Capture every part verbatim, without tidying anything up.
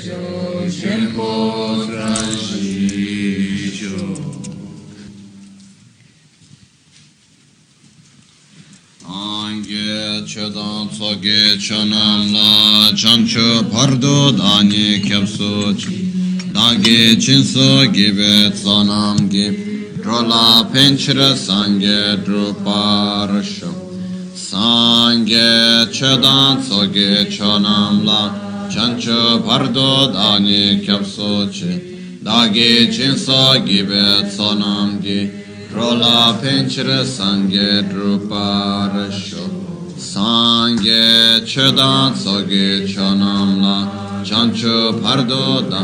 Chodan tsoge chonam la chancho pardo dani kyapso dagi chinso gibe tsonam gi rola penchira sangye druparasho sangye chodan tsoge chonam la chancho pardo dani kyapso dagi chinso gibe tsonam gi rola penchira sangye druparasho Sangye chedan soge chonam la chancho pardo da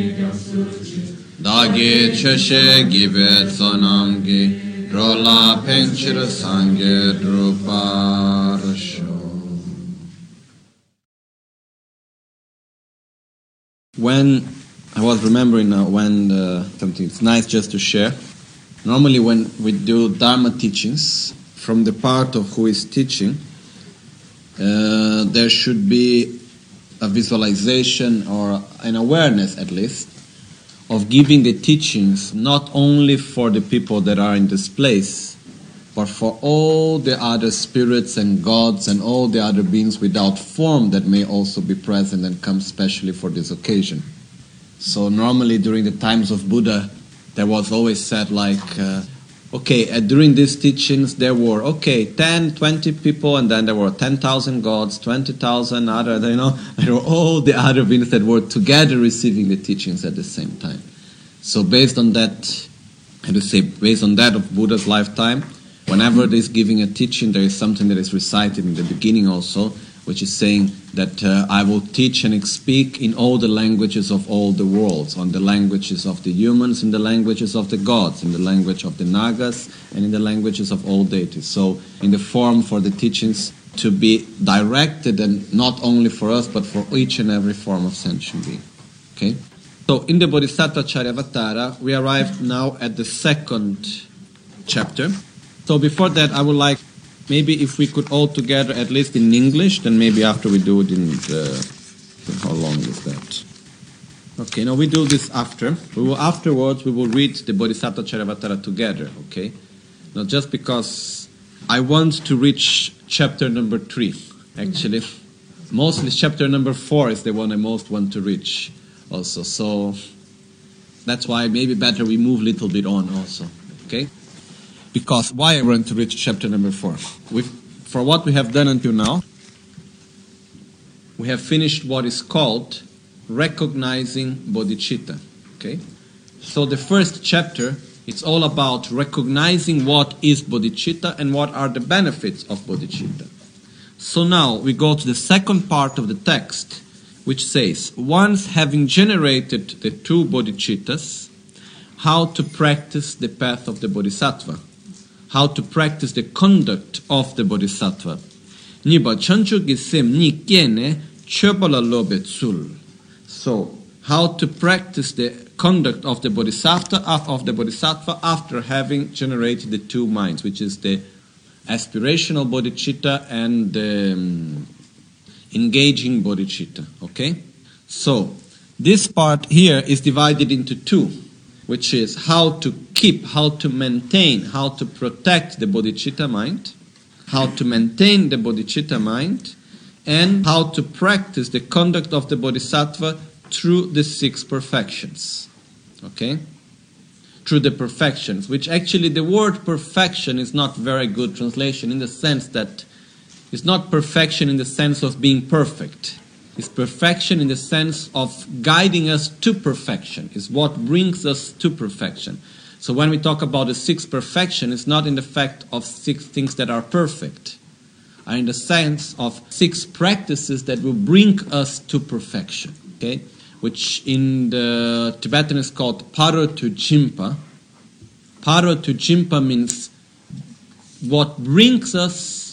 dagi cheshe gibe tsonam gi rola penchira sangye druparasho. When I was remembering now when uh, something it's nice just to share. Normally when we do Dharma teachings from the part of who is teaching, Uh, there should be a visualization or an awareness at least of giving the teachings not only for the people that are in this place but for all the other spirits and gods and all the other beings without form that may also be present and come specially for this occasion. So normally during the times of Buddha there was always said like uh, Okay, uh, during these teachings there were, okay, ten, twenty people, and then there were ten thousand gods, twenty thousand other, you know, there were all the other beings that were together receiving the teachings at the same time. So based on that, how to say, based on that of Buddha's lifetime, whenever there's giving a teaching, there is something that is recited in the beginning also, which is saying that uh, I will teach and speak in all the languages of all the worlds, on the languages of the humans, in the languages of the gods, in the language of the Nagas, and in the languages of all deities. So in the form for the teachings to be directed, and not only for us, but for each and every form of sentient being. Okay? So in the Bodhisattva Charyavatara, we arrived now at the second chapter. So before that, I would like maybe if we could all together, at least in English, then maybe after we do it in the... How long is that? Okay, now we do this after. We will afterwards, we will read the Bodhisattva Charyavatara together, okay? Now just because I want to reach chapter number three, actually. Mostly chapter number four is the one I most want to reach also. So that's why maybe better we move a little bit on also, okay? Because why I want to reach chapter number four? We've, for what we have done until now, we have finished what is called recognizing bodhicitta. Okay? So the first chapter, it's all about recognizing what is bodhicitta and what are the benefits of bodhicitta. So now we go to the second part of the text, which says, once having generated the two bodhicittas, how to practice the path of the bodhisattva. How to practice the conduct of the bodhisattva. Niba chanchu gisem ni kiene chöpala lobe tsul. So, how to practice the conduct of the bodhisattva of the bodhisattva after having generated the two minds, which is the aspirational bodhicitta and the um, engaging bodhicitta. Okay? So, this part here is divided into two, which is how to keep, how to maintain, how to protect the bodhicitta mind, how to maintain the bodhicitta mind, and how to practice the conduct of the bodhisattva through the six perfections. Okay? Through the perfections, which actually the word perfection is not very good translation in the sense that it's not perfection in the sense of being perfect. It's perfection in the sense of guiding us to perfection. It's what brings us to perfection. So when we talk about the six perfection, it's not in the fact of six things that are perfect, are in the sense of six practices that will bring us to perfection. Okay, which in the Tibetan is called Parotujimpa. Parotujimpa means what brings us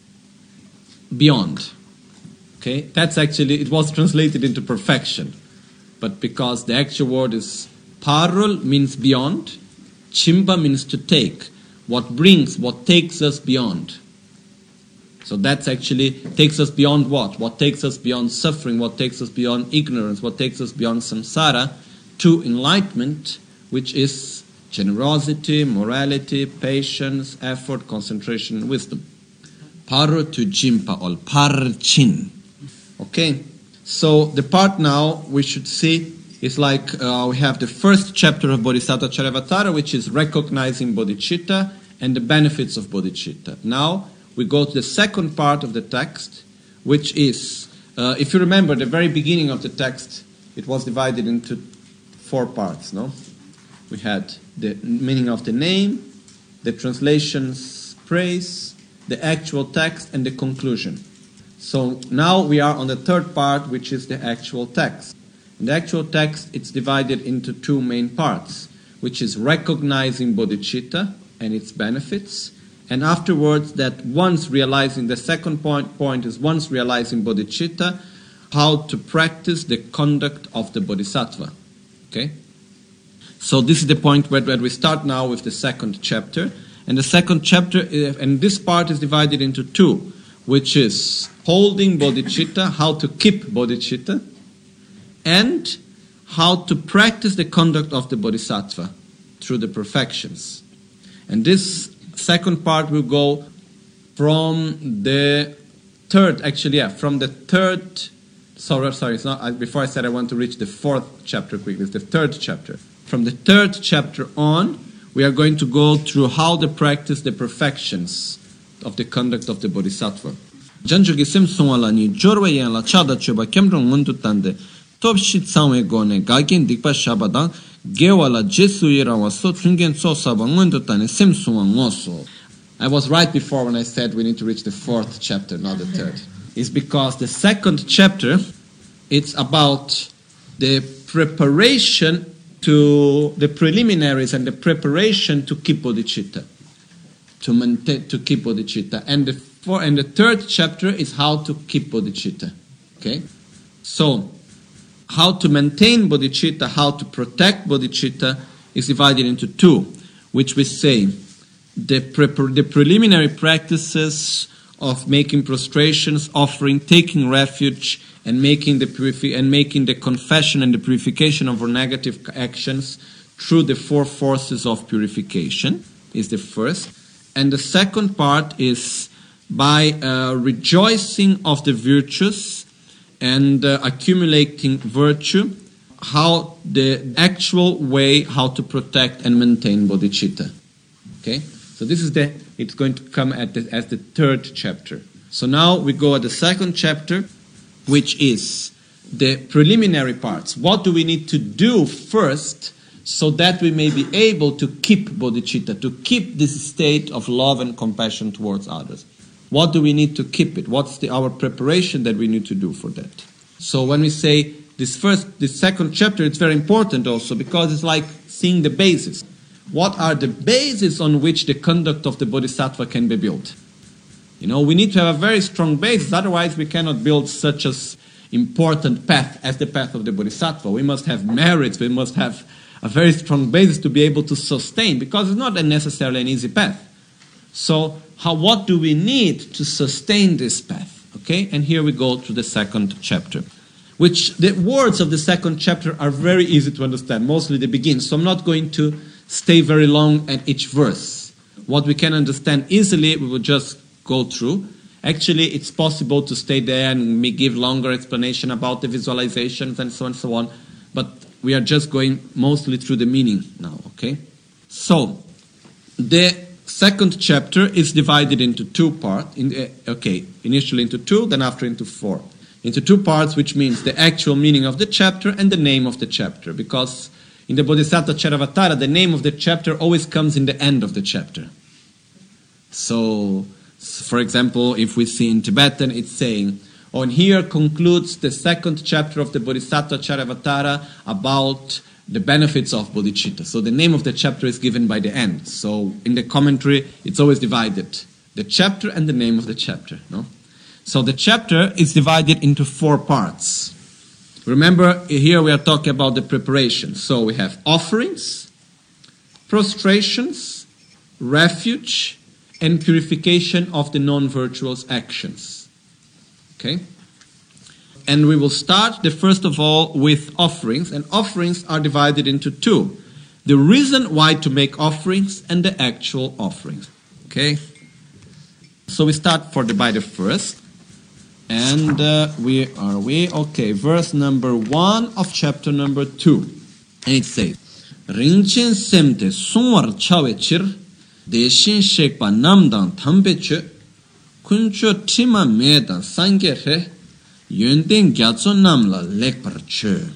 beyond. Okay, that's actually, it was translated into perfection. But because the actual word is parul means beyond, chimpa means to take. What brings, what takes us beyond. So that actually takes us beyond what? What takes us beyond suffering, what takes us beyond ignorance, what takes us beyond samsara, to enlightenment, which is generosity, morality, patience, effort, concentration, and wisdom. Paru tu jimpa ol parchin. Okay, so the part now we should see is like uh, we have the first chapter of Bodhisattva Charyavatara, which is recognizing bodhicitta and the benefits of bodhicitta. Now we go to the second part of the text, which is, uh, if you remember, the very beginning of the text, it was divided into four parts, no? We had the meaning of the name, the translation's praise, the actual text, and the conclusion. So now we are on the third part, which is the actual text. In the actual text, it's divided into two main parts, which is recognizing bodhicitta and its benefits, and afterwards that once realizing, the second point, point is once realizing bodhicitta, how to practice the conduct of the bodhisattva. Okay? So this is the point where, where we start now with the second chapter. And the second chapter, and this part is divided into two, which is holding bodhicitta, how to keep bodhicitta, and how to practice the conduct of the bodhisattva through the perfections. And this second part will go from the third, actually, yeah, from the third, sorry, sorry, it's not, I, before I said I want to reach the fourth chapter quickly, it's the third chapter. From the third chapter on, we are going to go through how to practice the perfections of the conduct of the bodhisattva. Janjogi simsung ala ni jorwa yan la chada choba kemrong ngundu tande top shit samwe gone gagen dikpa shabadang gewala jesu yirawa so tungen so saba ngundu tande simsung ngoso. I was right before when I said we need to reach the fourth chapter, not the third. It's because the second chapter, it's about the preparation to the preliminaries and the preparation to keep bodhicitta, to maintain, to keep bodhicitta, and the four, and the third chapter is how to keep bodhicitta. Okay, so how to maintain bodhicitta, how to protect bodhicitta is divided into two, which we say the pre- the preliminary practices of making prostrations, offering, taking refuge, and making the purifi- and making the confession and the purification of our negative actions through the four forces of purification is the first. And the second part is by uh, rejoicing of the virtues and uh, accumulating virtue, how the actual way how to protect and maintain bodhicitta. Okay, so this is the it's going to come at the, as the third chapter. So now we go at the second chapter, which is the preliminary parts. What do we need to do first so that we may be able to keep bodhicitta, to keep this state of love and compassion towards others? What do we need to keep it? What's the, our preparation that we need to do for that? So when we say this first, this second chapter, it's very important also because it's like seeing the basis. What are the bases on which the conduct of the bodhisattva can be built? You know, we need to have a very strong basis, otherwise we cannot build such an important path as the path of the bodhisattva. We must have merits, we must have a very strong basis to be able to sustain, because it's not necessarily an easy path. So, how, what do we need to sustain this path? Okay, and here we go to the second chapter, which the words of the second chapter are very easy to understand, mostly the beginning, so I'm not going to stay very long at each verse. What we can understand easily, we will just go through. Actually, it's possible to stay there and give longer explanation about the visualizations and so on and so on, but we are just going mostly through the meaning now, okay? So, the second chapter is divided into two parts. In the, okay, initially into two, then after into four. Into two parts, which means the actual meaning of the chapter and the name of the chapter, because in the Bodhisattva Charyavatara, the name of the chapter always comes in the end of the chapter. So, for example, if we see in Tibetan, it's saying, oh, and here concludes the second chapter of the Bodhisattva Charyavatara about the benefits of bodhicitta. So the name of the chapter is given by the end. So in the commentary, it's always divided. The chapter and the name of the chapter. No? So the chapter is divided into four parts. Remember, here we are talking about the preparation. So we have offerings, prostrations, refuge, and purification of the non-virtuous actions. Okay? And we will start, the first of all, with offerings. And offerings are divided into two. The reason why to make offerings and the actual offerings. Okay? So we start for the by the first. And uh, we are we okay, verse number one of chapter number two. And it says, Rinchen semte sunwar chawechir, deshin shekpa namdang thambeche, kuncho tima medan sangere, yönden gyatso namla lekparche.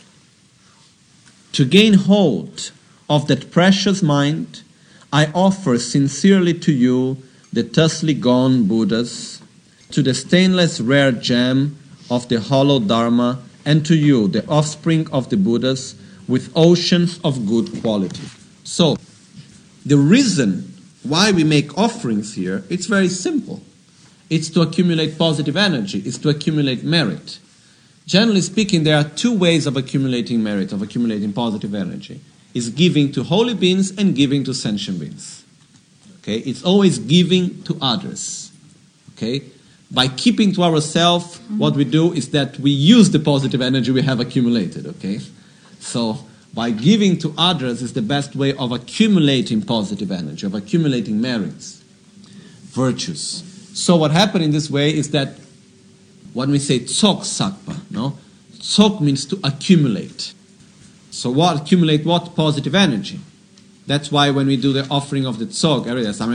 To gain hold of that precious mind, I offer sincerely to you the thusly gone Buddhas, to the stainless rare gem of the hollow Dharma, and to you, the offspring of the Buddhas, with oceans of good quality. So, the reason why we make offerings here, it's very simple. It's to accumulate positive energy. It's to accumulate merit. Generally speaking, there are two ways of accumulating merit, of accumulating positive energy. It's giving to holy beings and giving to sentient beings. Okay? It's always giving to others. Okay? By keeping to ourselves, what we do is that we use the positive energy we have accumulated. Okay? So, by giving to others is the best way of accumulating positive energy, of accumulating merits, virtues. So what happened in this way is that when we say tsok sakpa, no? Tsok means to accumulate. So what accumulate what? Positive energy. That's why when we do the offering of the tsok,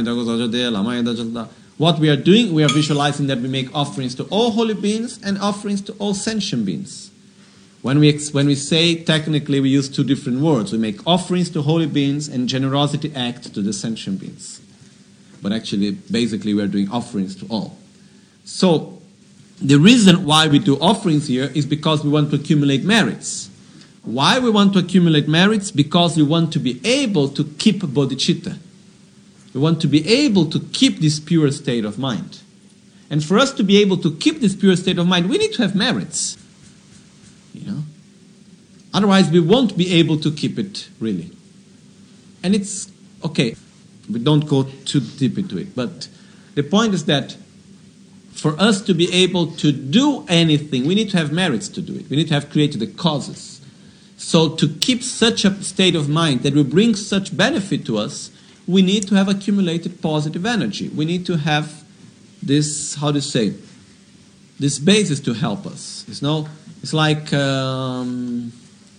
what we are doing, we are visualizing that we make offerings to all holy beings and offerings to all sentient beings. When we, when we say, technically we use two different words. We make offerings to holy beings and generosity acts to the sentient beings. But actually, basically, we are doing offerings to all. So, the reason why we do offerings here is because we want to accumulate merits. Why we want to accumulate merits? Because we want to be able to keep bodhicitta. We want to be able to keep this pure state of mind. And for us to be able to keep this pure state of mind, we need to have merits. You know? Otherwise, we won't be able to keep it, really. And it's, okay, we don't go too deep into it, but the point is that for us to be able to do anything, we need to have merits to do it. We need to have created the causes. So to keep such a state of mind that will bring such benefit to us, we need to have accumulated positive energy. We need to have this, how to say, this basis to help us. You know? It's like, um,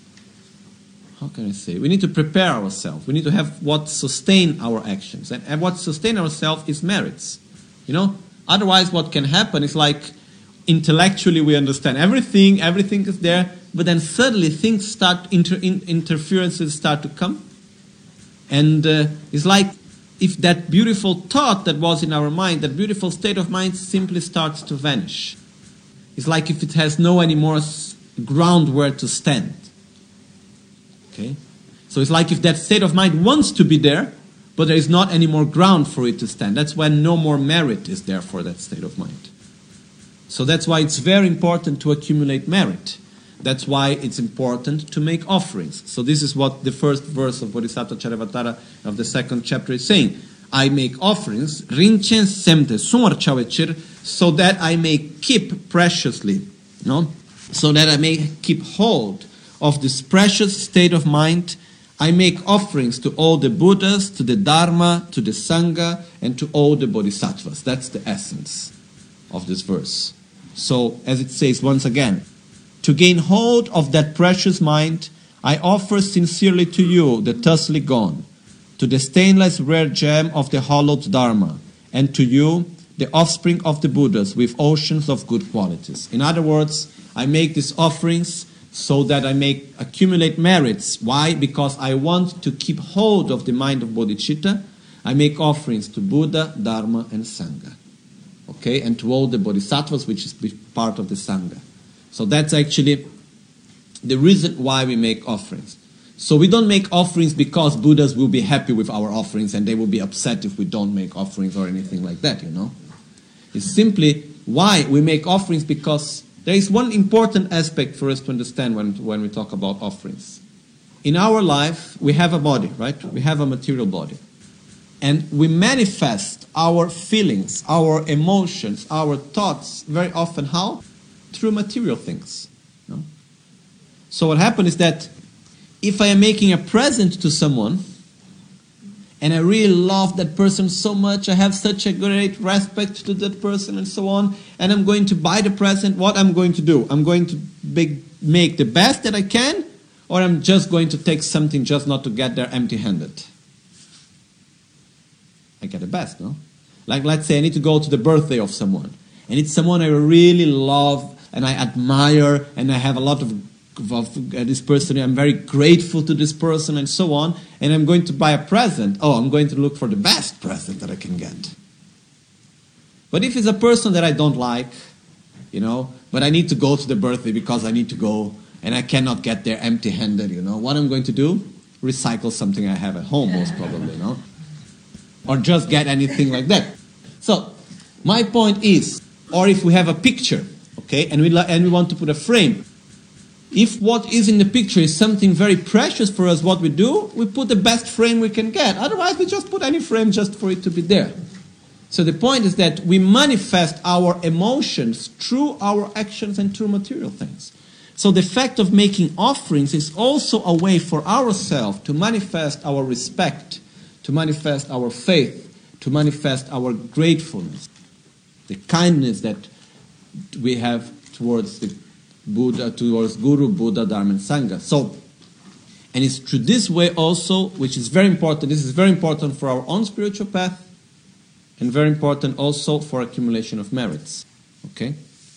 how can I say? We need to prepare ourselves. We need to have what sustain our actions. And, and what sustain ourselves is merits. You know? Otherwise, what can happen is like, intellectually we understand everything, everything is there, but then suddenly things start, inter, in, interferences start to come. And uh, it's like, if that beautiful thought that was in our mind, that beautiful state of mind simply starts to vanish. It's like if it has no any more ground where to stand. Okay? So it's like if that state of mind wants to be there, but there is not any more ground for it to stand. That's when no more merit is there for that state of mind. So that's why it's very important to accumulate merit. That's why it's important to make offerings. So this is what the first verse of Bodhisattva Charyavatara of the second chapter is saying. I make offerings, rinchen semte sumar chawechir, so that I may keep preciously, no? So that I may keep hold of this precious state of mind. I make offerings to all the Buddhas, to the Dharma, to the Sangha, and to all the Bodhisattvas. That's the essence of this verse. So, as it says once again, to gain hold of that precious mind, I offer sincerely to you the thusly gone, to the stainless rare gem of the hollowed Dharma, and to you, the offspring of the Buddhas, with oceans of good qualities. In other words, I make these offerings so that I may accumulate merits. Why? Because I want to keep hold of the mind of bodhicitta. I make offerings to Buddha, Dharma, and Sangha. Okay? And to all the bodhisattvas, which is part of the Sangha. So that's actually the reason why we make offerings. So we don't make offerings because Buddhas will be happy with our offerings and they will be upset if we don't make offerings or anything like that, you know. It's simply why we make offerings, because there is one important aspect for us to understand when, when we talk about offerings. In our life, we have a body, right? We have a material body. And we manifest our feelings, our emotions, our thoughts very often how? Through material things. You know? So what happens is that if I am making a present to someone, and I really love that person so much, I have such a great respect to that person and so on, and I'm going to buy the present, what I'm going to do? I'm going to make, make the best that I can, or I'm just going to take something just not to get there empty-handed? I get the best, no? Like, let's say I need to go to the birthday of someone, and it's someone I really love, and I admire, and I have a lot of of uh, this person, I'm very grateful to this person and so on, and I'm going to buy a present. Oh, I'm going to look for the best present that I can get. But if it's a person that I don't like, you know, but I need to go to the birthday because I need to go, and I cannot get there empty-handed, you know, what I'm going to do? Recycle something I have at home, most probably, you know, or just get anything like that. So, my point is, or if we have a picture, okay, and we, and we want to put a frame, if what is in the picture is something very precious for us, what we do, we put the best frame we can get. Otherwise, we just put any frame just for it to be there. So the point is that we manifest our emotions through our actions and through material things. So the fact of making offerings is also a way for ourselves to manifest our respect, to manifest our faith, to manifest our gratefulness, the kindness that we have towards the Buddha, towards Guru, Buddha, Dharma, and Sangha. So, and it's through this way also, which is very important, this is very important for our own spiritual path, and very important also for accumulation of merits. Okay?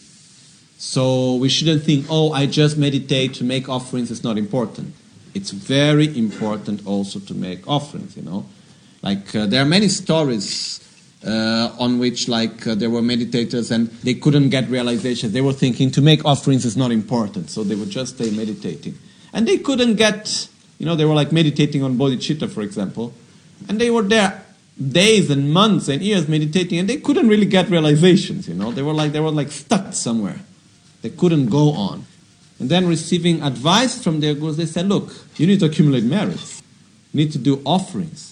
So, we shouldn't think, oh, I just meditate to make offerings, it's not important. It's very important also to make offerings, you know. Like, uh, there are many stories Uh, on which like uh, there were meditators and they couldn't get realization. They were thinking to make offerings is not important, so they would just stay meditating. And they couldn't get, you know, they were like meditating on bodhicitta, for example, and they were there days and months and years meditating, and they couldn't really get realizations, you know. They were like they were like stuck somewhere. They couldn't go on. And then receiving advice from their gurus, they said, look, you need to accumulate merits. You need to do offerings.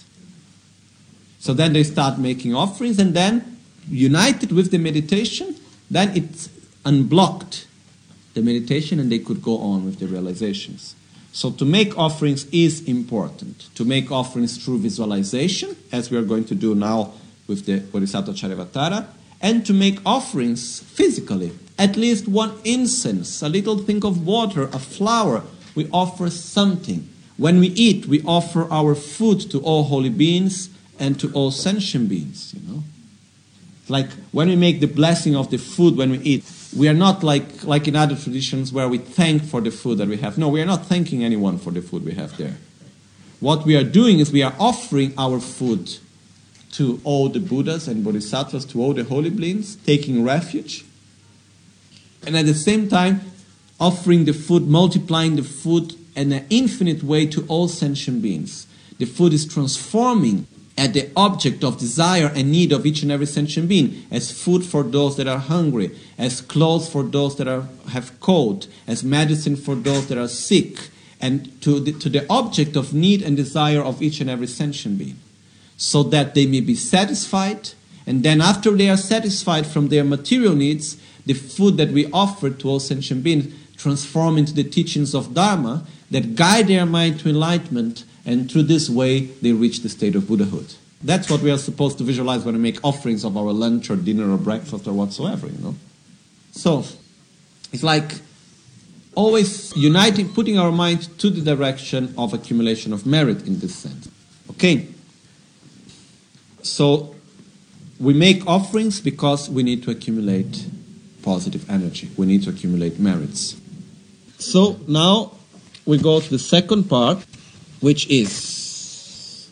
So then they start making offerings, and then, united with the meditation, then it unblocked the meditation and they could go on with the realizations. So to make offerings is important. To make offerings through visualization, as we are going to do now with the Bodhisattva Charyavatara, and to make offerings physically. At least one incense, a little thing of water, a flower, we offer something. When we eat, we offer our food to all holy beings, and to all sentient beings, you know. Like when we make the blessing of the food when we eat, we are not like, like in other traditions where we thank for the food that we have. No, we are not thanking anyone for the food we have there. What we are doing is we are offering our food to all the Buddhas and Bodhisattvas, to all the holy beings, taking refuge. And at the same time, offering the food, multiplying the food in an infinite way to all sentient beings. The food is transforming at the object of desire and need of each and every sentient being, as food for those that are hungry, as clothes for those that are, have cold, as medicine for those that are sick, and to the, to the object of need and desire of each and every sentient being, so that they may be satisfied, and then after they are satisfied from their material needs, the food that we offer to all sentient beings transform into the teachings of Dharma that guide their mind to enlightenment, and through this way, they reach the state of Buddhahood. That's what we are supposed to visualize when we make offerings of our lunch or dinner or breakfast or whatsoever, you know. So, it's like always uniting, putting our mind to the direction of accumulation of merit in this sense. Okay? So, we make offerings because we need to accumulate positive energy. We need to accumulate merits. So, now we go to the second part, which is,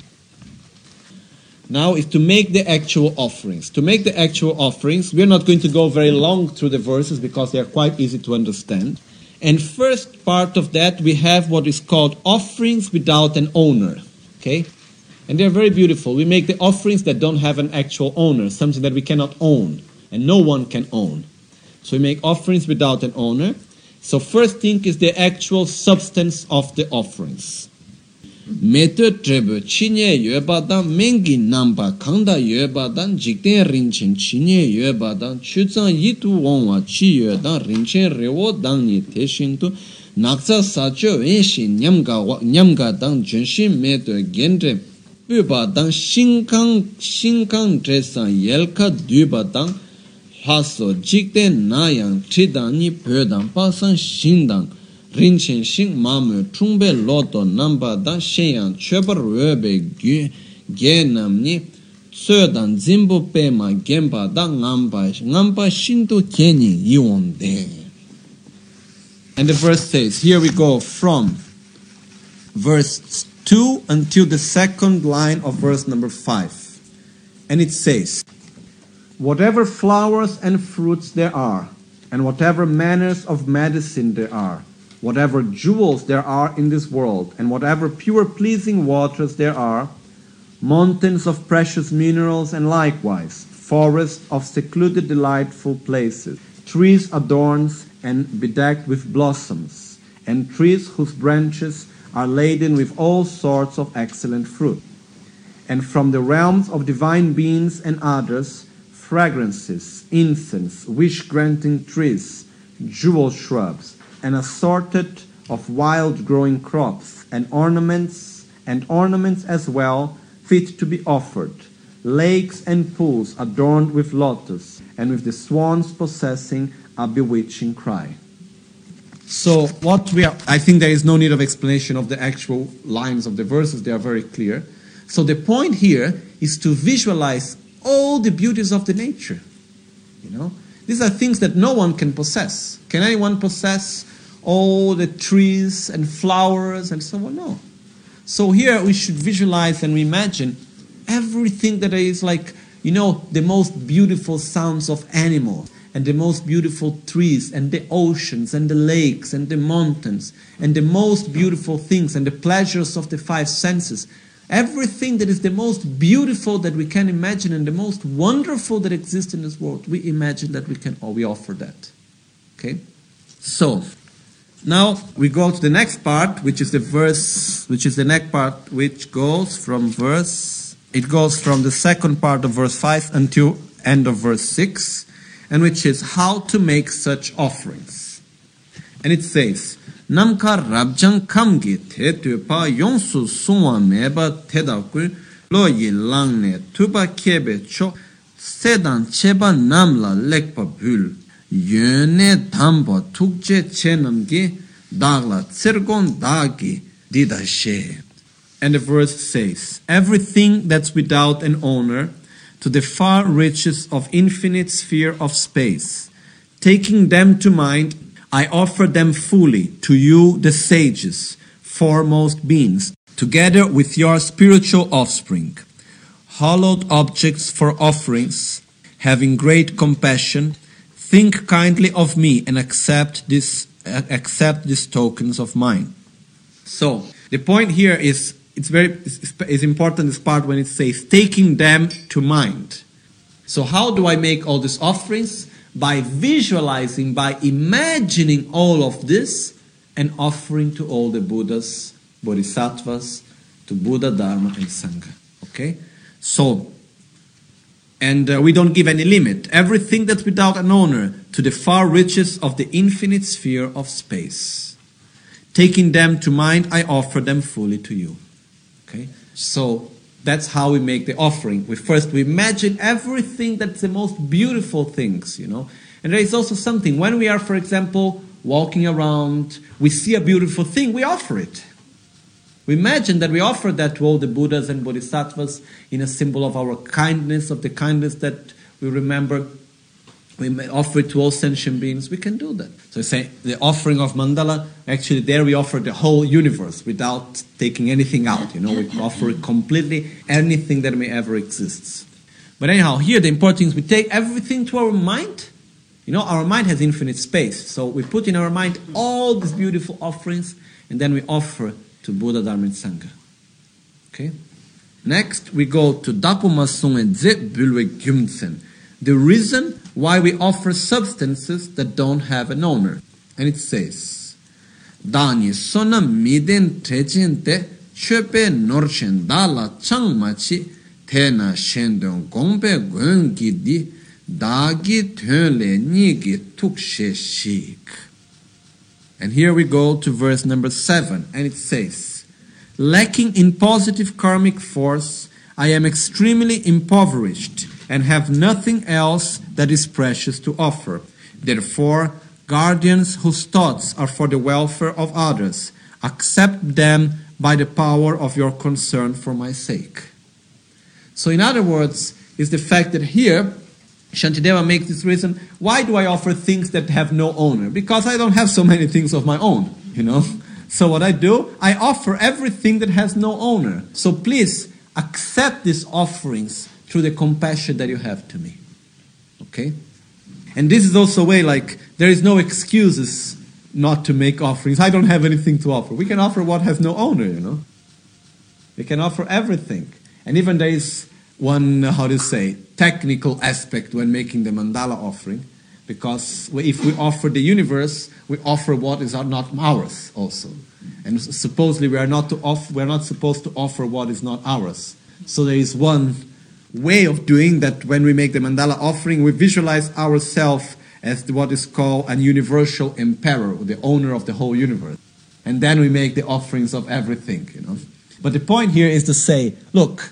now is to make the actual offerings. To make the actual offerings, we are not going to go very long through the verses because they are quite easy to understand. And first part of that, we have what is called offerings without an owner. Okay? And they are very beautiful. We make the offerings that don't have an actual owner, something that we cannot own, and no one can own. So we make offerings without an owner. So first thing is the actual substance of the offerings. Meto trebo chinye yuebadan mengi namba kanda yuebadan jikten rinchen chinye yuebadan chuzan yitu wongwa chi yuedan rinchen rewo dangni teshintu naksa sacho wenshi nyamga nyamga dang jenshin meto genre bubadan shinkang shinkang dresan yelka dubadan haso jikten nayang tridani pödan pasan shindang rinchen shing mamu chungbe loto namba dan shenyang chebar webe gyu ge namni tsodan zimbo pema gemba dan ngamba ngamba shinto keni yonde. And the verse says, here we go from verse two until the second line of verse number five. And it says, whatever flowers and fruits there are, and whatever manners of medicine there are, whatever jewels there are in this world, and whatever pure pleasing waters there are, mountains of precious minerals, and likewise forests of secluded delightful places, trees adorned and bedecked with blossoms, and trees whose branches are laden with all sorts of excellent fruit. And from the realms of divine beings and others, fragrances, incense, wish-granting trees, jewel shrubs, and assorted of wild-growing crops, and ornaments, and ornaments as well, fit to be offered, lakes and pools adorned with lotus, and with the swans possessing a bewitching cry. So what we are, I think there is no need of explanation of the actual lines of the verses, they are very clear. So the point here is to visualize all the beauties of the nature. You know, these are things that no one can possess. Can anyone possess all the trees and flowers and so on? No. So here we should visualize and imagine everything that is like, you know, the most beautiful sounds of animals, and the most beautiful trees, and the oceans, and the lakes, and the mountains, and the most beautiful things, and the pleasures of the five senses. Everything that is the most beautiful that we can imagine, and the most wonderful that exists in this world, we imagine that we can, or we offer that. Okay? So, now we go to the next part, which is the verse, which is the next part, which goes from verse, it goes from the second part of verse five until end of verse six, and which is how to make such offerings. And it says, Namka rabjang kamgi te tupa yongsu sungwa meba tedakul lo yi langne tuba kebe cho sedan cheba namla lekpa bul yöne dambo tukje chenamgi dagla tsirgon dagi didashe. And the verse says, everything that's without an owner, to the far reaches of infinite sphere of space, taking them to mind, I offer them fully to you, the sages, foremost beings, together with your spiritual offspring, hallowed objects for offerings, having great compassion, think kindly of me and accept this, uh, accept these tokens of mine. So the point here is, it's very it's important, this part when it says taking them to mind. So how do I make all these offerings? By visualizing, by imagining all of this and offering to all the Buddhas, Bodhisattvas, to Buddha, Dharma and Sangha. Okay? So, and uh, we don't give any limit. Everything that's without an owner, to the far reaches of the infinite sphere of space. Taking them to mind, I offer them fully to you. Okay? So, that's how we make the offering. We first, we imagine everything that's the most beautiful things, you know. And there is also something, when we are, for example, walking around, we see a beautiful thing, we offer it. We imagine that we offer that to all the Buddhas and Bodhisattvas in a symbol of our kindness, of the kindness that we remember. We may offer it to all sentient beings. We can do that. So say the offering of mandala, actually there we offer the whole universe without taking anything out. You know, we offer it completely, anything that may ever exist. But anyhow, here the important thing is we take everything to our mind. You know, our mind has infinite space. So we put in our mind all these beautiful offerings and then we offer to Buddha, Dharma and Sangha. Okay? Next, we go to Dakuma Sungen Ze Bulwe Gyumtsen. The reason why we offer substances that don't have an owner. And it says, Dani sona miden trejente chepe norchen dala changmachi tena shendon gombe gongi di dagi tönle nigi tukshe shik. And here we go to verse number seven, and it says, lacking in positive karmic force, I am extremely impoverished and have nothing else that is precious to offer. Therefore, guardians whose thoughts are for the welfare of others, accept them by the power of your concern for my sake. So in other words, is the fact that here, Shantideva makes this reason, why do I offer things that have no owner? Because I don't have so many things of my own, you know. So what I do, I offer everything that has no owner. So please accept these offerings through the compassion that you have to me. Okay? And this is also a way, like, there is no excuses not to make offerings. I don't have anything to offer. We can offer what has no owner, you know. We can offer everything. And even there is one, how to say, technical aspect when making the mandala offering. Because if we offer the universe, we offer what is not ours also. And supposedly we are not to off, we are not supposed to offer what is not ours. So there is one way of doing that. When we make the mandala offering, we visualize ourselves as what is called an universal emperor, the owner of the whole universe. And then we make the offerings of everything, you know. But the point here is to say, look,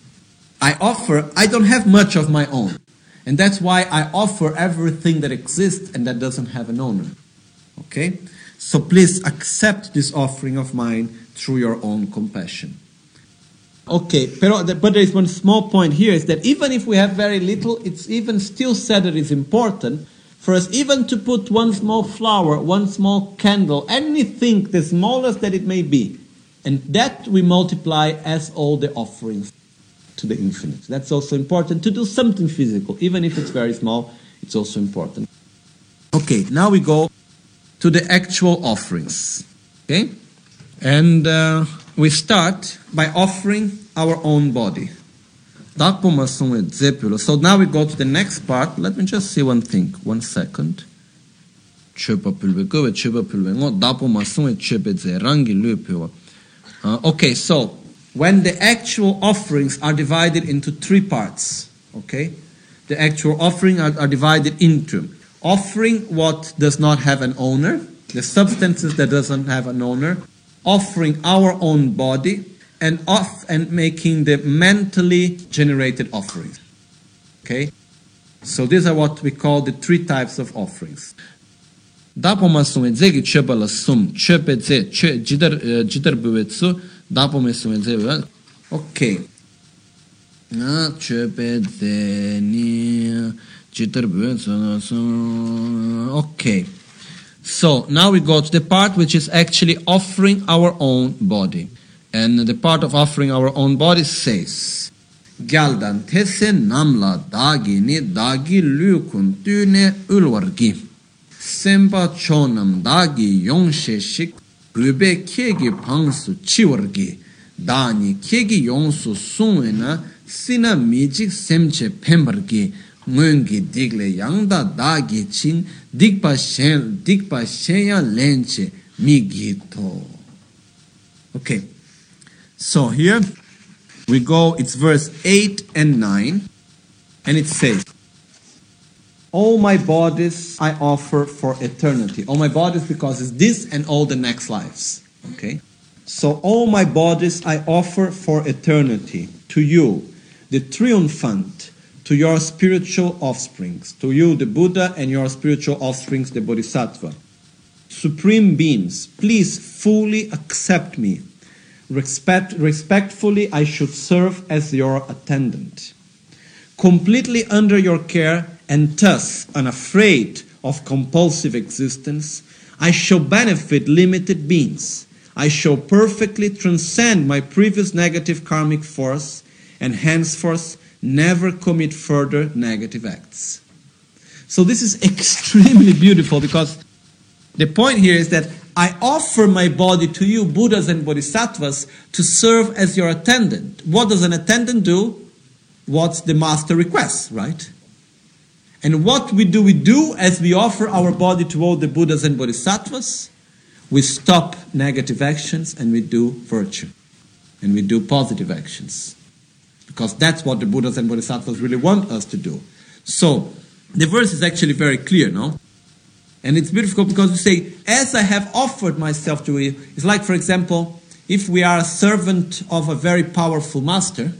I offer, I don't have much of my own. And that's why I offer everything that exists and that doesn't have an owner. Okay? So please accept this offering of mine through your own compassion. Okay, pero, but there is one small point here, is that even if we have very little, it's even still said that it's important for us even to put one small flower, one small candle, anything, the smallest that it may be, and that we multiply as all the offerings to the infinite. That's also important, to do something physical, even if it's very small, it's also important. Okay, now we go to the actual offerings. Okay? And uh, we start by offering our own body. So now we go to the next part. Let me just see one thing. One second. Uh, okay, so when the actual offerings are divided into three parts, okay? The actual offering are, are divided into offering what does not have an owner, the substances that doesn't have an owner, offering our own body, and off and making the mentally generated offerings. Okay? So these are what we call the three types of offerings. Okay. Okay. So now we go to the part which is actually offering our own body. And the part of offering our own body says, Gyaldan tese namla dagi ni dagi lukun tune ulwargi. Sempa chonam dagi yongshe shik rube kegi pangsu chiwargi. Dani kegi yongsu sungwena sina mijik semche pembargi. Ngungi digle yangda dagi chin digpa shen digpa shenya lenche migito. Okay. So here we go, it's verse eight and nine, and it says, all my bodies I offer for eternity. All my bodies, because it's this and all the next lives. Okay? So all my bodies I offer for eternity, to you, the triumphant, to your spiritual offsprings, to you, the Buddha, and your spiritual offsprings, the Bodhisattva. Supreme beings, please fully accept me. Respect, respectfully, I should serve as your attendant. Completely under your care and thus unafraid of compulsive existence, I shall benefit limited beings. I shall perfectly transcend my previous negative karmic force and henceforth never commit further negative acts. So this is extremely beautiful, because the point here is that I offer my body to you, Buddhas and Bodhisattvas, to serve as your attendant. What does an attendant do? What the master requests, right? And what we do, we do as we offer our body to all the Buddhas and Bodhisattvas, we stop negative actions and we do virtue. and we do positive actions. Because that's what the Buddhas and Bodhisattvas really want us to do. So, the verse is actually very clear, no? And it's beautiful because we say, as I have offered myself to you, it's like, for example, if we are a servant of a very powerful master,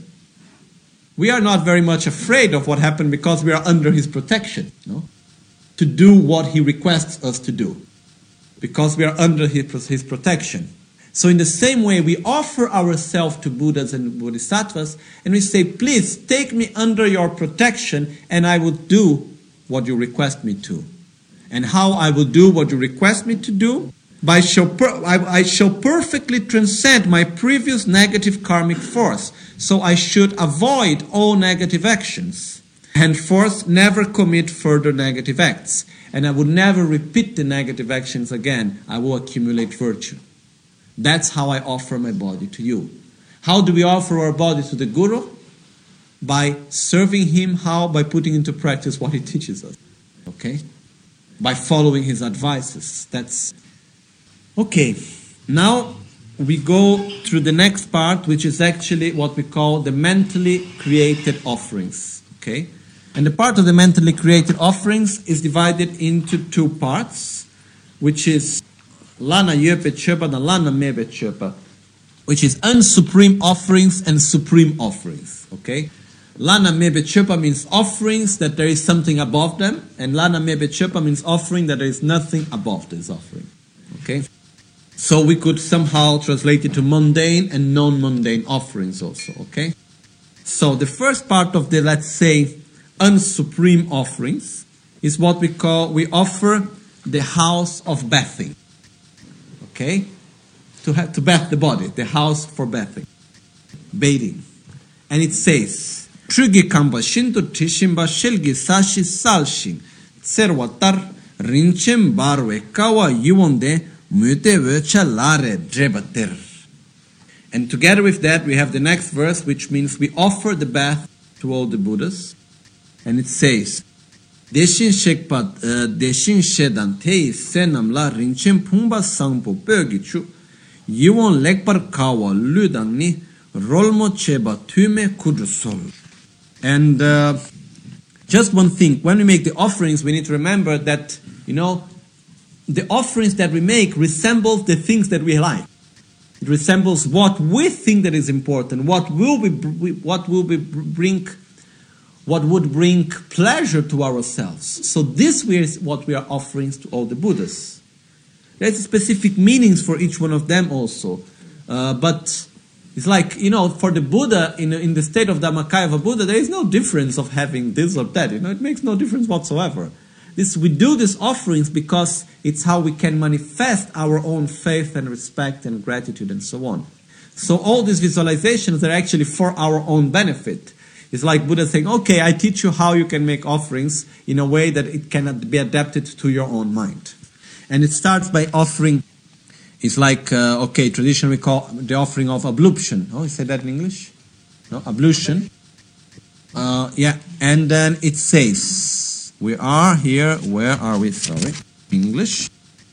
we are not very much afraid of what happened because we are under his protection, no? To do what he requests us to do. Because we are under his, his protection. So in the same way, we offer ourselves to Buddhas and Bodhisattvas, and we say, please take me under your protection, and I will do what you request me to. And how I will do what you request me to do? By shall per- I, I shall perfectly transcend my previous negative karmic force, so I should avoid all negative actions. Henceforth, never commit further negative acts, and I would never repeat the negative actions again. I will accumulate virtue. That's how I offer my body to you. How do we offer our body to the Guru? By serving him. How? By putting into practice what he teaches us. Okay? By following his advices. That's... Okay. Now we go through the next part, which is actually what we call the mentally created offerings. Okay? And the part of the mentally created offerings is divided into two parts, which is Lana Yepe Chepa and Lana Mebe Chepa, which is unsupreme offerings and supreme offerings. Okay? Lana Mebe Chepa means offerings that there is something above them, and Lana Mebe Chepa means offering that there is nothing above this offering. Okay? So we could somehow translate it to mundane and non-mundane offerings also. Okay? So the first part of the, let's say, unsupreme offerings is what we call, we offer the house of bathing. Okay? To have to bath the body, the house for bathing. Bathing. And it says, Trugi kamba shinto tishimba shelgi sashi salshin tserwatar rinchen barwe kawa yuonde mute vecha lare drebater. And together with that we have the next verse, which means we offer the bath to all the Buddhas. And it says, Deshin shekpat deshin shedan tei senam la rinchen pumba sangpo pögichu yiwon lekpar kawa ludang ni rolmo cheba tume kudrusol. And uh, just one thing, when we make the offerings, we need to remember that, you know, the offerings that we make resemble the things that we like. It resembles what we think that is important, what will be, what will be bring. What would bring pleasure to ourselves. So this is what we are offering to all the Buddhas. There's specific meanings for each one of them also. Uh, but it's like, you know, for the Buddha, in, in the state of Dhammakaya of a Buddha, there is no difference of having this or that. You know, it makes no difference whatsoever. This, we do these offerings because it's how we can manifest our own faith and respect and gratitude and so on. So all these visualizations are actually for our own benefit. It's like Buddha saying, okay, I teach you how you can make offerings in a way that it cannot be adapted to your own mind. And it starts by offering, it's like, uh, okay, traditionally we call the offering of ablution. Oh, you said that in English? No, ablution. Uh, yeah, and then it says, we are here, where are we? Sorry, English.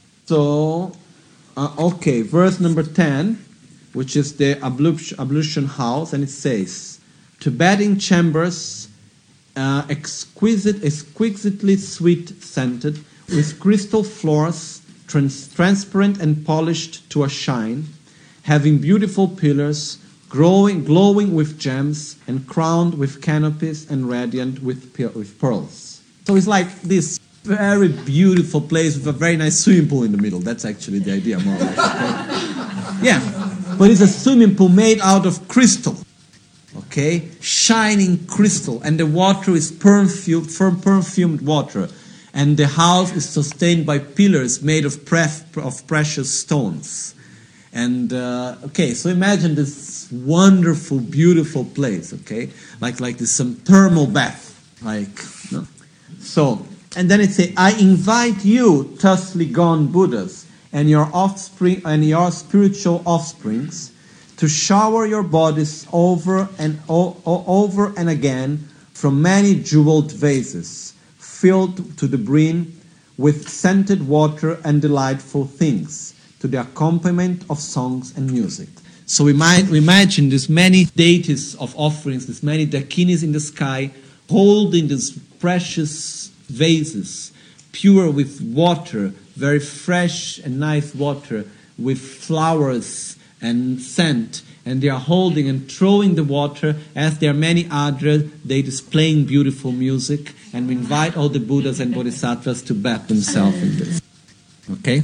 So, uh, okay, verse number ten, which is the ablution, ablution house, and it says, to bathing chambers, uh, exquisite, exquisitely sweet-scented, with crystal floors, trans- transparent and polished to a shine, having beautiful pillars, growing, glowing with gems, and crowned with canopies and radiant with, pe- with pearls. So it's like this very beautiful place with a very nice swimming pool in the middle. That's actually the idea, more or less. Okay? Yeah, but it's a swimming pool made out of crystal. Okay, shining crystal, and the water is perfumed, perfumed water, and the house is sustained by pillars made of, pref, of precious stones. And uh, okay, so imagine this wonderful, beautiful place. Okay, like like this some thermal bath, like no? So, and then it says, I invite you, thusly gone Buddhas, and your offspring and your spiritual offsprings, to shower your bodies over and o- o- over and again from many jeweled vases, filled to the brim with scented water and delightful things, to the accompaniment of songs and music. So we might we imagine there's many deities of offerings, there's many dakinis in the sky, holding these precious vases, pure with water, very fresh and nice water, with flowers and scent, and they are holding and throwing the water as there are many other deities playing beautiful music, and we invite all the Buddhas and Bodhisattvas to bathe themselves in this. Okay?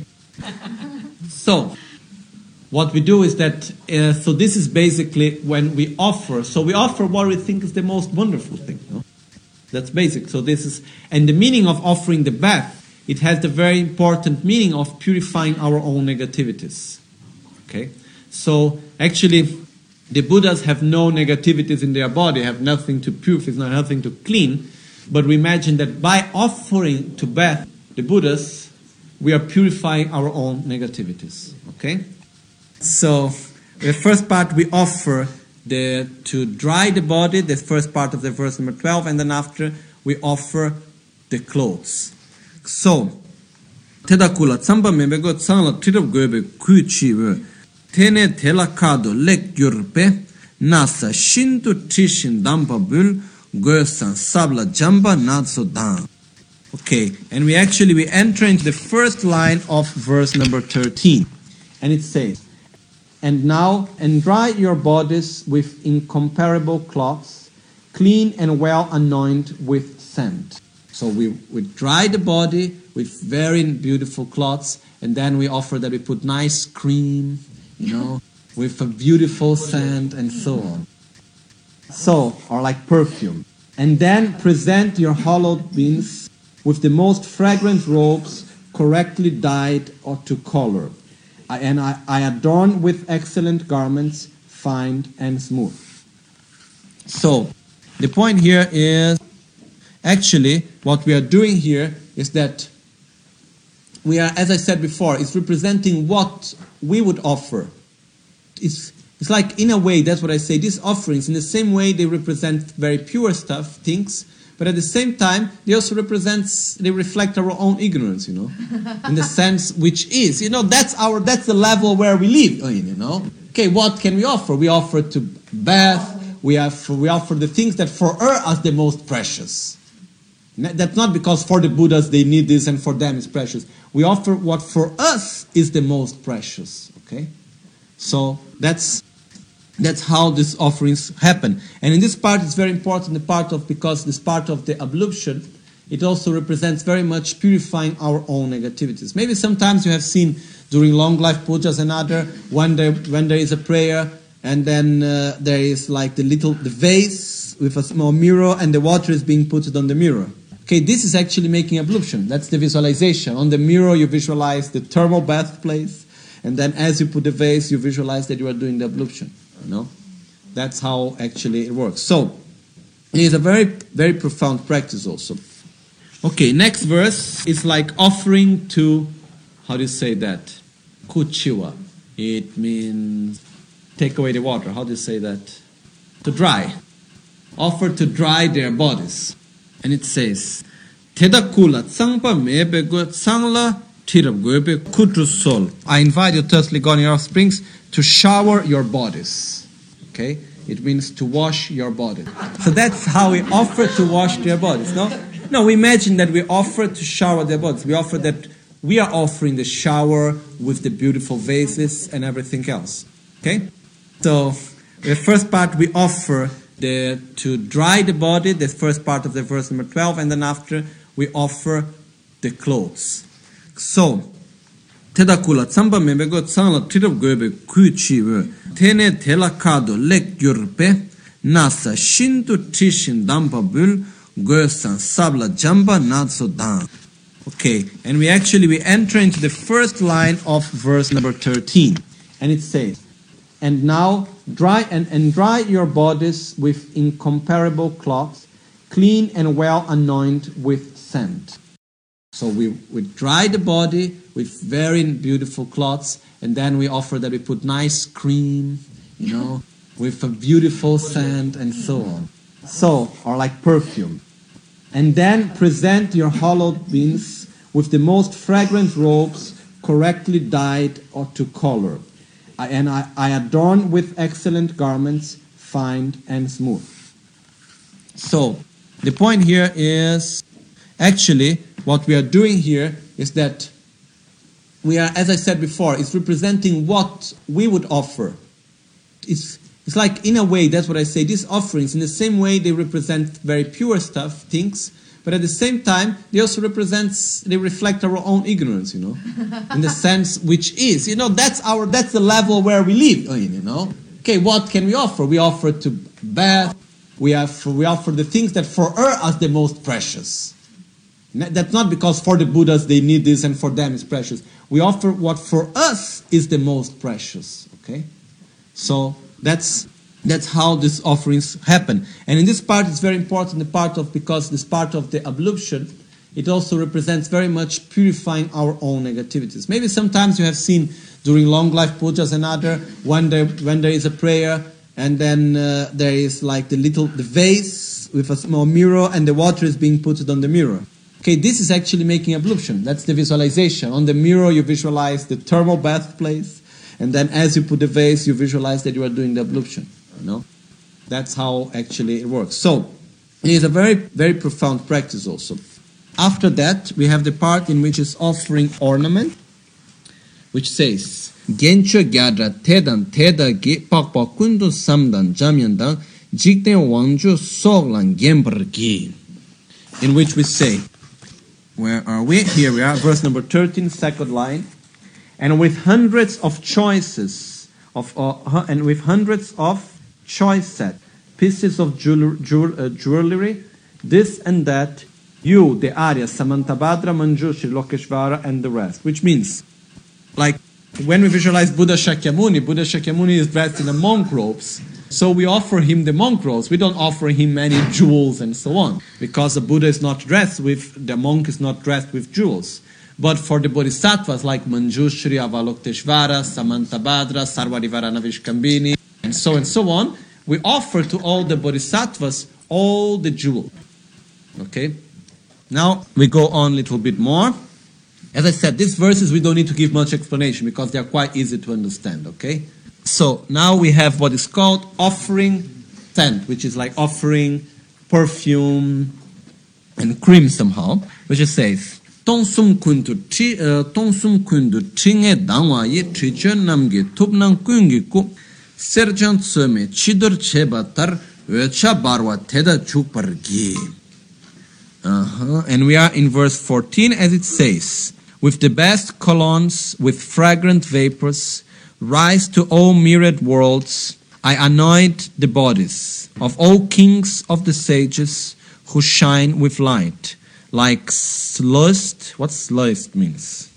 So, what we do is that, uh, so this is basically when we offer, so we offer what we think is the most wonderful thing. No? That's basic. So this is, and the meaning of offering the bath, it has the very important meaning of purifying our own negativities. Okay? So actually, the Buddhas have no negativities in their body, have nothing to purify, not nothing to clean, but we imagine that by offering to bath the Buddhas, we are purifying our own negativities. Okay? So, the first part we offer the to dry the body, the first part of the verse number twelve, and then after we offer the clothes. So, Tedakula tsamba membego tsangla tirab goebe kuchiwe tene telakado lek yurpe nasa shintu tishin dampa bul goesan sabla jamba natso dan. Okay, and we actually we enter into the first line of verse number thirteen, and it says, "And now, and dry your bodies with incomparable cloths, clean and well anointed with scent." So we, we dry the body with very beautiful cloths, and then we offer that we put nice cream, you know, with a beautiful scent and so on. So, or like perfume. And then present your hollowed beings with the most fragrant robes, correctly dyed or to color. I, and I, I adorn with excellent garments, fine and smooth. So, the point here is, actually, what we are doing here is that we are, as I said before, it's representing what we would offer. It's, it's like, in a way, that's what I say, these offerings, in the same way, they represent very pure stuff, things, but at the same time, they also represent, they reflect our own ignorance, you know, in the sense which is, you know, that's our, that's the level where we live in, you know. Okay, what can we offer? We offer to bath, we, have, we offer the things that for us are the most precious. That's not because for the Buddhas they need this and for them it's precious. We offer what for us is the most precious, okay? So that's That's how these offerings happen. And in this part, it's very important, the part of, because this part of the ablution, it also represents very much purifying our own negativities. Maybe sometimes you have seen during long life pujas and other, when there, when there is a prayer, and then uh, there is like the little, the vase with a small mirror, and the water is being put on the mirror. Okay, this is actually making ablution. That's the visualization. On the mirror, you visualize the thermal bath place, and then as you put the vase, you visualize that you are doing the ablution. You know, that's how actually it works. So, it is a very, very profound practice also. Okay, next verse is like offering to, how do you say that? Kuchiwa. It means take away the water. How do you say that? To dry. Offer to dry their bodies. And it says, Tedakula tsangpa mebego tsangla tirab goebe kutrusol. I invite you, thirsty Goni offsprings, to shower your bodies. Okay? It means to wash your body. So that's how we offer to wash their bodies, no? No, we imagine that we offer to shower their bodies. We offer that we are offering the shower with the beautiful vases and everything else. Okay? So, the first part we offer the to dry the body, the first part of the verse number twelve, and then after we offer the clothes. So, Tedakula tsamba membego tsangla tirab goebe kuchiwe tene telakado lek yurpe nasa shintu tishin dampa bul goesan sabla jamba natso dan. Okay, and we actually we enter into the first line of verse number thirteen, and it says, "And now dry and, and dry your bodies with incomparable cloths, clean and well anointed with scent." So we, we dry the body with very beautiful cloths, and then we offer that we put nice cream, you know, with a beautiful scent and so on. So, or like perfume. And then present your hollowed beings with the most fragrant robes, correctly dyed or to color. I, and I, I adorn with excellent garments, fine and smooth. So, the point here is, actually, what we are doing here is that we are, as I said before, it's representing what we would offer. It's, it's like, in a way, that's what I say, these offerings, in the same way, they represent very pure stuff, things, but at the same time, they also represent, they reflect our own ignorance, you know, in the sense which is, you know, that's our, that's the level where we live in, you know. Okay, what can we offer? We offer to bath, we, have, we offer the things that for us are the most precious. That's not because for the Buddhas they need this and for them it's precious. We offer what for us is the most precious, okay? So that's that's how these offerings happen. And in this part it's very important, the part of, because this part of the ablution, it also represents very much purifying our own negativities. Maybe sometimes you have seen during long life pujas and other, when there, when there is a prayer and then uh, there is like the little, the vase with a small mirror and the water is being put on the mirror. Okay, this is actually making ablution. That's the visualization. On the mirror you visualize the thermal bath place, and then as you put the vase, you visualize that you are doing the ablution. You know, that's how actually it works. So, it is a very, very profound practice also. After that, we have the part in which is offering ornament, which says, Gencho gyadra tedan teda gi pakpa kundu samdan jamyandan jikten wangju soglan gember gi. In which we say, where are we? Here we are, verse number thirteen, second line. And with hundreds of choices, of uh, and with hundreds of choice set, pieces of jewel, jewel, uh, jewelry, this and that, you, the Arya, Samantabhadra, Manjushri, Lokeshvara, and the rest. Which means, like, when we visualize Buddha Shakyamuni, Buddha Shakyamuni is dressed in the monk robes, so we offer him the monk robes. We don't offer him any jewels and so on, because the Buddha is not dressed with, the monk is not dressed with jewels. But for the bodhisattvas like Manjushri, Avalokiteshvara, Samantabhadra, Sarvarivarana Vishkambini, and so and so on, we offer to all the bodhisattvas all the jewels. Okay? Now we go on a little bit more. As I said, these verses we don't need to give much explanation because they are quite easy to understand. Okay? So now we have what is called offering scent, which is like offering perfume and cream somehow, which it says, Tonsum kundu tonsum kundu chinge dangwa ye trichon namge tupnang kungi ku serjant söme chidur chebatar vecha barwa teda chukpargi. Uh-huh. And we are in verse fourteen, as it says, with the best colognes, with fragrant vapors, rise to all myriad worlds, I anoint the bodies of all kings of the sages who shine with light, like sluiced, what sluiced means?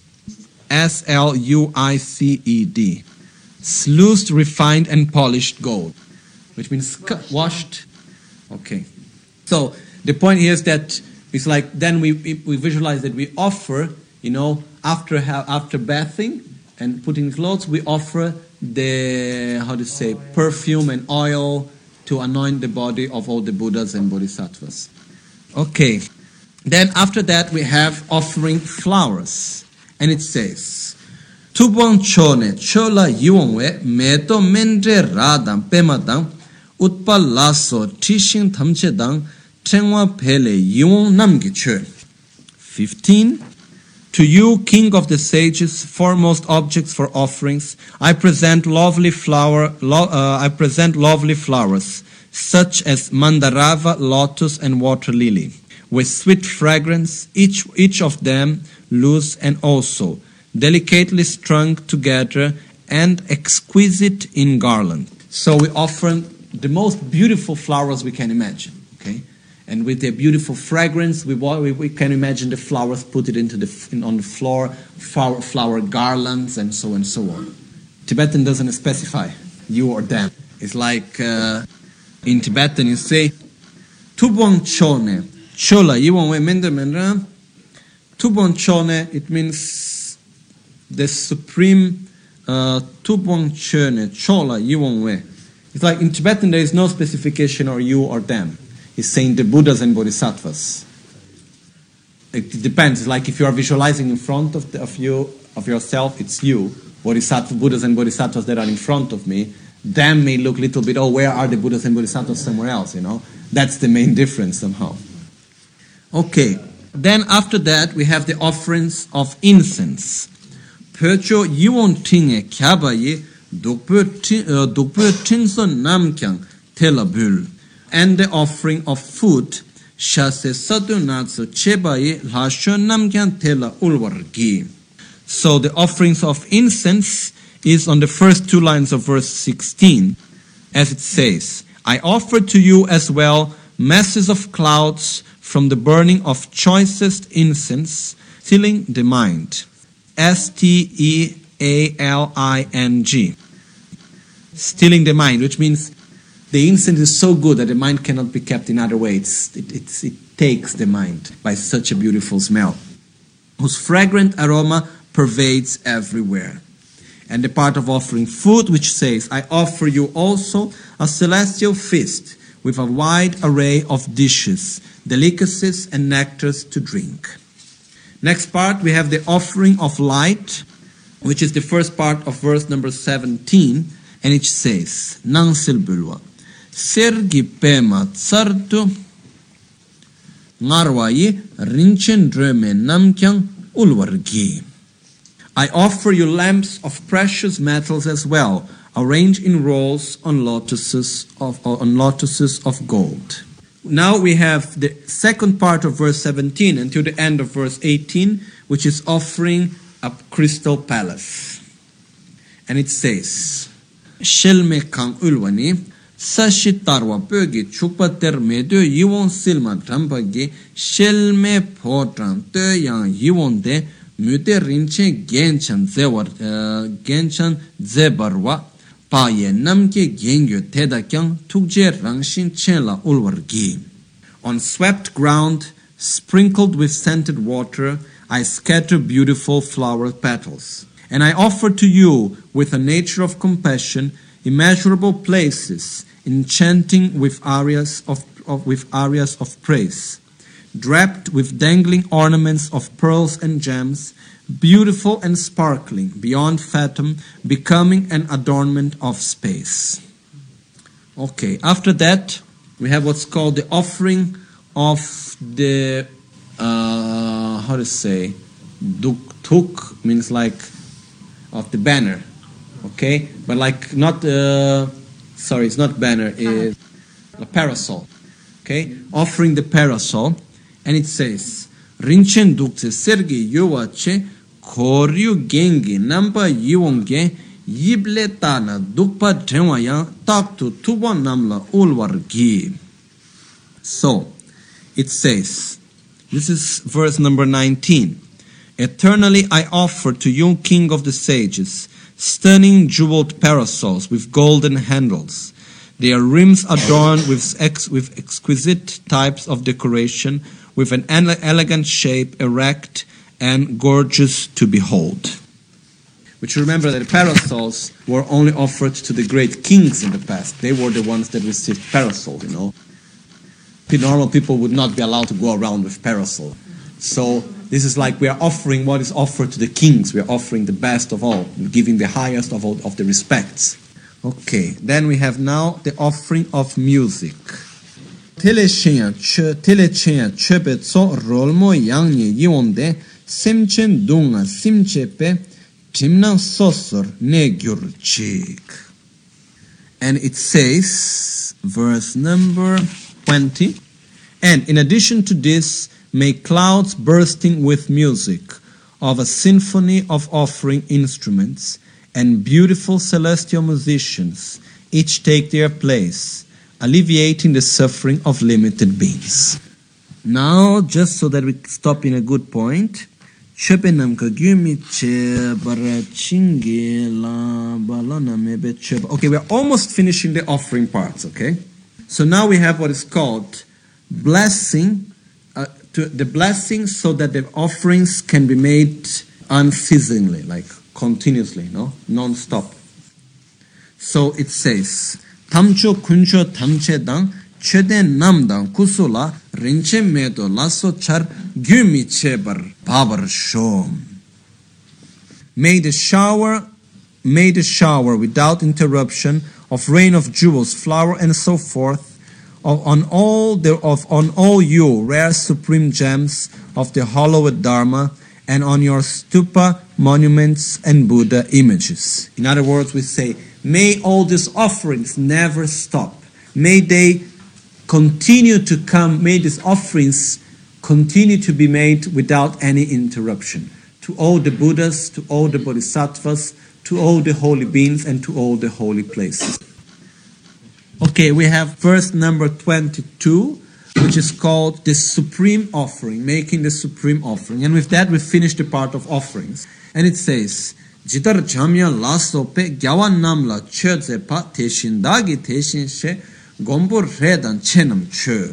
S L U I C E D. Sluiced, refined and polished gold, which means washed. washed. Okay. So the point here is that it's like then we we visualize that we offer, you know, after after bathing and putting clothes, we offer the, how to say, perfume and oil to anoint the body of all the Buddhas and Bodhisattvas. Okay. Then after that we have offering flowers. And it says, Tubon chone chola yuongwe meto mendre radam pemadam utpal laso tishin tamchedang trengwa pele yuong namgiche. Fifteen. To you, King of the Sages, foremost objects for offerings, I present lovely flower. Lo, uh, I present lovely flowers, such as mandarava, lotus, and water lily, with sweet fragrance, each each of them loose and also delicately strung together and exquisite in garland. So we offer the most beautiful flowers we can imagine. Okay. And with their beautiful fragrance, we, we, we can imagine the flowers, put it into the in, on the floor, flower, flower garlands, and so and so on. Tibetan doesn't specify you or them. It's like uh, in Tibetan you say, Tubon chone, chola, yiwonwe mende mendra. Tubon chone, it means the supreme uh, Tubon chone, chola, yiwonwe. It's like in Tibetan there is no specification or you or them. He's saying the Buddhas and Bodhisattvas. It depends. Like if you are visualizing in front of, the, of you of yourself, it's you. bodhisattva, Buddhas and Bodhisattvas that are in front of me, them may look a little bit, oh, where are the Buddhas and Bodhisattvas somewhere else, you know? That's the main difference somehow. Okay, then after that we have the offerings of incense. Pöcho yiwon tinge kyabaye dukpo tinson namkyang telabul. And the offering of food, shase sadu natsu chebaye lashon namkyang tela ulwargi. So the offerings of incense is on the first two lines of verse sixteen, as it says, I offer to you as well masses of clouds from the burning of choicest incense, stilling the mind. S T E A L I N G. Stilling the mind, which means the incense is so good that the mind cannot be kept in other ways. It, it, it takes the mind by such a beautiful smell, whose fragrant aroma pervades everywhere. And the part of offering food, which says, I offer you also a celestial feast with a wide array of dishes, delicacies, and nectars to drink. Next part, we have the offering of light, which is the first part of verse number seventeen, and it says, Nang silbulwa, sergi pema tsartu, ngarwayi rinchen dreme namkyang ulwargi. I offer you lamps of precious metals as well, arranged in rows on lotuses of, on lotuses of gold. Now we have the second part of verse seventeen until the end of verse eighteen, which is offering a crystal palace. And it says, Shelme kang ulwani, sashitarwa pögi chukpater medo yiwon silma trampagi, shelme potran te yang yiwon de mute rinche genchan zewar, genchan zebarwa, paye namke gengyo teda kyang tukje rangshin chela ulwargi. On swept ground, sprinkled with scented water, I scatter beautiful flower petals. And I offer to you, with a nature of compassion, immeasurable places, enchanting with arias of, of, with arias of praise, draped with dangling ornaments of pearls and gems, beautiful and sparkling, beyond fathom, becoming an adornment of space. Okay, after that, we have what's called the offering of the, uh, how to say, duk tuk, means like, of the banner, okay? But like not, uh, sorry, it's not banner, it's a parasol, okay? Offering the parasol, and it says, Rinchen dukse sergi yuwache koryu gengi nampa yiwonge yible tana dukpa tenwaya taktu tuba namla ulwargi. So, it says, this is verse number nineteen. Eternally I offer to you, King of the Sages, stunning jeweled parasols with golden handles. Their rims adorned with, ex- with exquisite types of decoration, with an ele- elegant shape, erect and gorgeous to behold. Which remember that the parasols were only offered to the great kings in the past. They were the ones that received parasols, you know. The normal people would not be allowed to go around with parasol. So this is like we are offering what is offered to the kings. We are offering the best of all, giving the highest of all of the respects. Okay, then we have now the offering of music. Telechenya chebe tso rolmo yangne yonde simchen dunga simchepe timna sosor negyurchik. And it says, verse number twenty, and in addition to this, may clouds bursting with music of a symphony of offering instruments and beautiful celestial musicians each take their place, alleviating the suffering of limited beings. Now, just so that we stop in a good point, okay, we are almost finishing the offering parts, okay? So now we have what is called blessing, uh, to the blessing so that the offerings can be made unceasingly, like continuously, no? Non-stop. So it says, Tamcho kuncho tamche dang, chede namdang kusula, rinche medo lasso char gyumi chebar babar shom. May the shower made a shower without interruption of rain of jewels, flour, and so forth, of, on all the of on all you rare supreme gems of the hallowed Dharma, and on your stupa, monuments, and Buddha images. In other words, we say, may all these offerings never stop. May they continue to come. May these offerings continue to be made without any interruption. To all the Buddhas, to all the Bodhisattvas, to all the holy beings, and to all the holy places. Okay, we have verse number twenty-two, which is called the Supreme Offering, making the Supreme Offering. And with that, we finish the part of offerings. And it says, Jitar jamya laso pe gyawan namla chöze pa teshin dagi teshin she gombur redan chenam chö.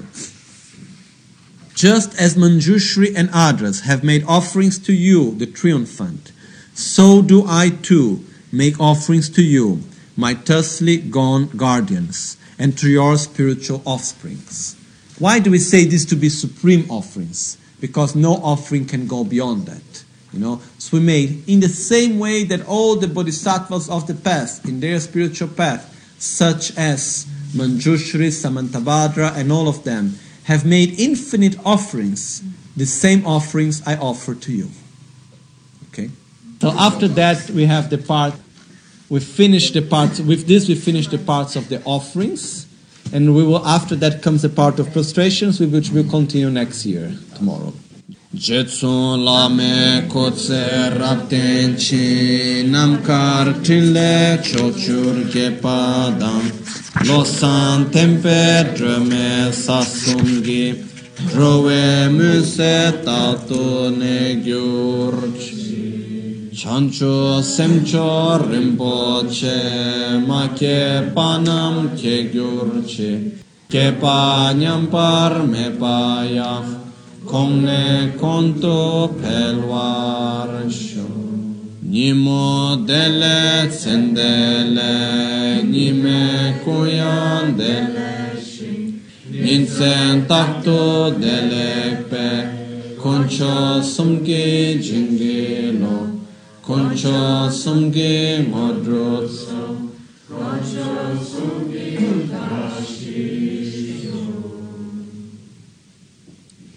Just as Manjushri and others have made offerings to you, the triumphant, so do I too make offerings to you, my thusly gone guardians, and to your spiritual offsprings. Why do we say this to be supreme offerings? Because no offering can go beyond that. You know, so we made in the same way that all the bodhisattvas of the past, in their spiritual path, such as Manjushri, Samantabhadra, and all of them, have made infinite offerings. The same offerings I offer to you. Okay? So after that, we have the part. We finish the parts. With this, we finish the parts of the offerings, and we will. After that comes the part of prostrations, which will continue next year, tomorrow. Jetsun lame kotse rapten chi namkar trinle chochur gepadam losan tempe drome sasungi drove muse tato ne gyurch chancho semcho rimpoche ma ke panam ke gyurche ke pa nyampar me paya Komne konto pelwar sho Nimo dele tsendele Nime kuyan dele Ninsen takto dele pe Koncho sumgi jingilo Koncho sumgi modrotso Koncho sumgi dashi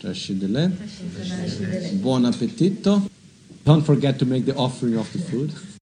Buon appetito. Don't forget to make the offering of the food.